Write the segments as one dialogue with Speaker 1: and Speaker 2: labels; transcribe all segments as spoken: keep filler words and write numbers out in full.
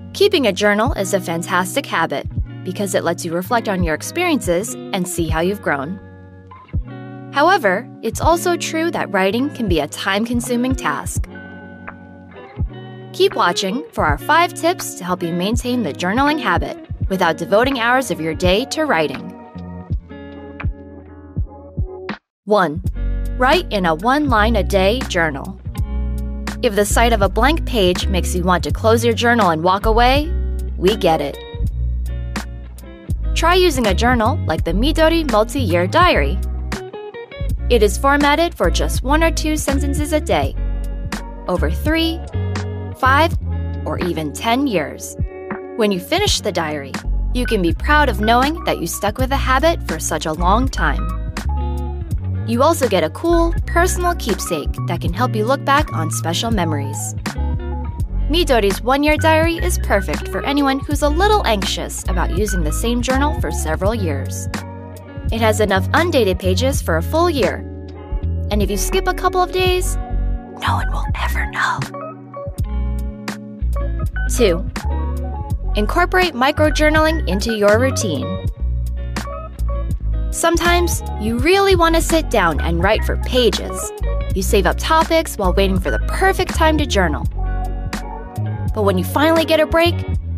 Speaker 1: Keeping a journal is a fantastic habit because it lets you reflect on your experiences and see how you've grown. However, it's also true that writing can be a time-consuming task. Keep watching for our five tips to help you maintain the journaling habit without devoting hours of your day to writing. one. Write in a one-line-a-day journal. If the sight of a blank page makes you want to close your journal and walk away, we get it. Try using a journal like the Midori Multi-Year Diary. It is formatted for just one or two sentences a day, over three, five, or even ten years. When you finish the diary, you can be proud of knowing that you stuck with a habit for such a long time. You also get a cool, personal keepsake that can help you look back on special memories. Midori's one-year diary is perfect for anyone who's a little anxious about using the same journal for several years. It has enough undated pages for a full year. And if you skip a couple of days, no one will ever know. two. Incorporate microjournaling into your routine. Sometimes you really want to sit down and write for pages. You save up topics while waiting for the perfect time to journal. But when you finally get a break,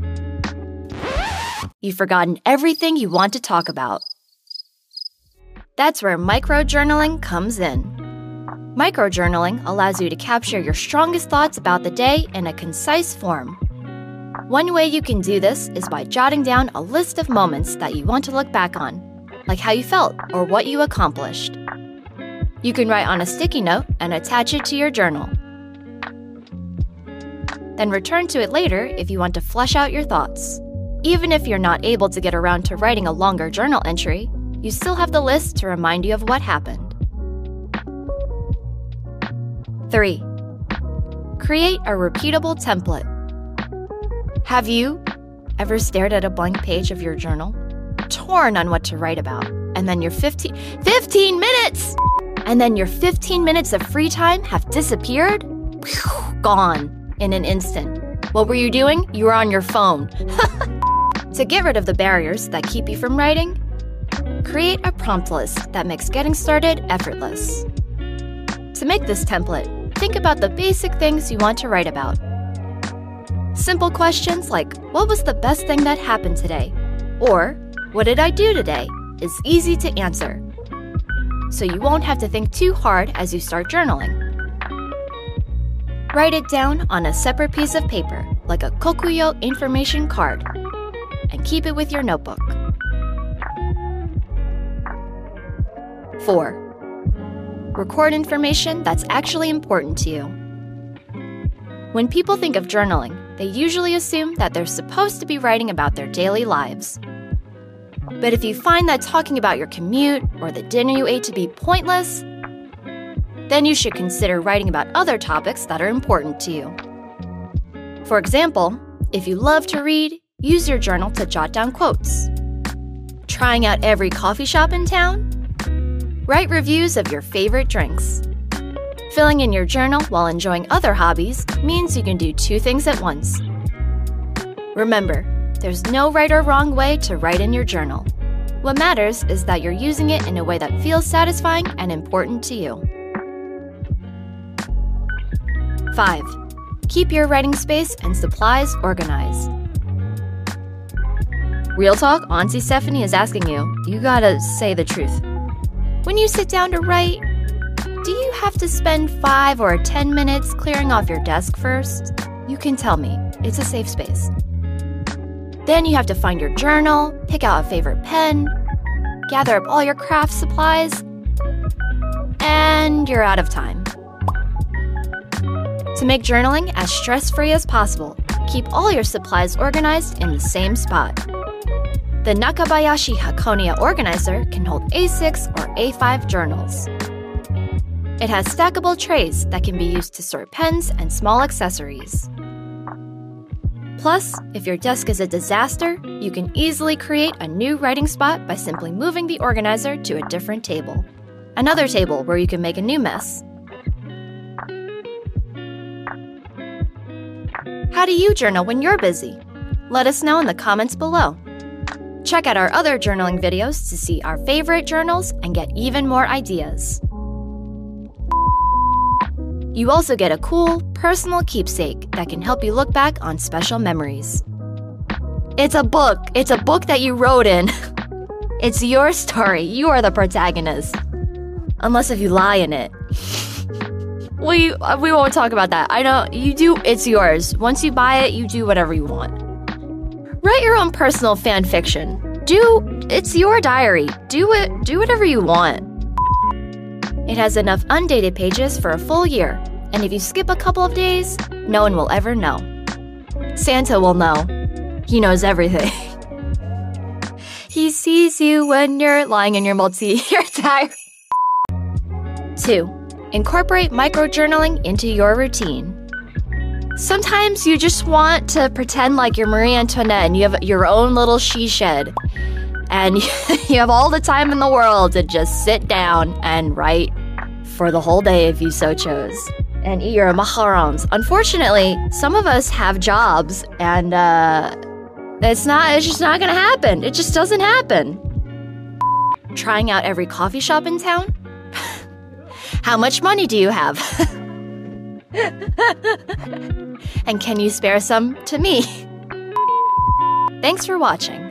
Speaker 1: you've forgotten everything you want to talk about. That's where microjournaling comes in. Microjournaling allows you to capture your strongest thoughts about the day in a concise form. One way you can do this is by jotting down a list of moments that you want to look back on, like how you felt or what you accomplished. You can write on a sticky note and attach it to your journal. Then return to it later if you want to flesh out your thoughts. Even if you're not able to get around to writing a longer journal entry, you still have the list to remind you of what happened. three. Create a repeatable template. Have you ever stared at a blank page of your journal, torn on what to write about, and then your fifteen, fifteen minutes! And then your fifteen minutes of free time have disappeared? Whew, gone in an instant. What were you doing? You were on your phone. To get rid of the barriers that keep you from writing, create a prompt list that makes getting started effortless. To make this template, think about the basic things you want to write about. Simple questions like, what was the best thing that happened today? Or, what did I do today? Is easy to answer. So you won't have to think too hard as you start journaling. Write it down on a separate piece of paper, like a Kokuyo information card, and keep it with your notebook. four. Record information that's actually important to you. When people think of journaling, they usually assume that they're supposed to be writing about their daily lives. But if you find that talking about your commute or the dinner you ate to be pointless, then you should consider writing about other topics that are important to you. For example, if you love to read, use your journal to jot down quotes. Trying out every coffee shop in town? Write reviews of your favorite drinks. Filling in your journal while enjoying other hobbies means you can do two things at once. Remember, there's no right or wrong way to write in your journal. What matters is that you're using it in a way that feels satisfying and important to you. five. Keep your writing space and supplies organized. Real talk, Auntie Stephanie is asking you, you gotta say the truth. When you sit down to write, do you have to spend five or ten minutes clearing off your desk first? You can tell me. It's a safe space. Then you have to find your journal, pick out a favorite pen, gather up all your craft supplies, and you're out of time. To make journaling as stress-free as possible, keep all your supplies organized in the same spot. The Nakabayashi Hakonia organizer can hold A six or A five journals. It has stackable trays that can be used to sort pens and small accessories. Plus, if your desk is a disaster, you can easily create a new writing spot by simply moving the organizer to a different table. Another table where you can make a new mess. How do you journal when you're busy? Let us know in the comments below. Check out our other journaling videos to see our favorite journals and get even more ideas. You also get a cool, personal keepsake that can help you look back on special memories. It's a book. It's a book that you wrote in. It's your story. You are the protagonist. Unless if you lie in it. We, we won't talk about that. I know, you do, it's yours. Once you buy it, you do whatever you want. Write your own personal fan fiction. Do, it's your diary. Do it, do whatever you want. It has enough undated pages for a full year, and if you skip a couple of days, no one will ever know. Santa will know. He knows everything. He sees you when you're lying in your multi-year diary. two. Incorporate microjournaling into your routine. Sometimes you just want to pretend like you're Marie Antoinette and you have your own little she shed. And you have all the time in the world to just sit down and write for the whole day if you so chose. And eat your macarons. Unfortunately, some of us have jobs and uh, it's not, it's just not gonna happen. It just doesn't happen. Trying out every coffee shop in town? How much money do you have? And can you spare some to me? Thanks for watching.